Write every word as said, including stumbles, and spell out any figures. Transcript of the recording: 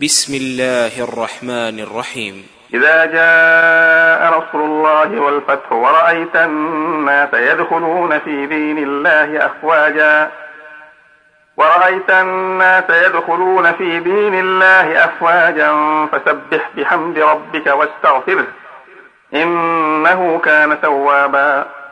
بسم الله الرحمن الرحيم. إذا جاء نصر الله والفتح ورأيت الناس يدخلون في دين الله أفواجا ورأيت الناس يدخلون في دين الله أفواجا فسبح بحمد ربك واستغفره إنه كان توابا.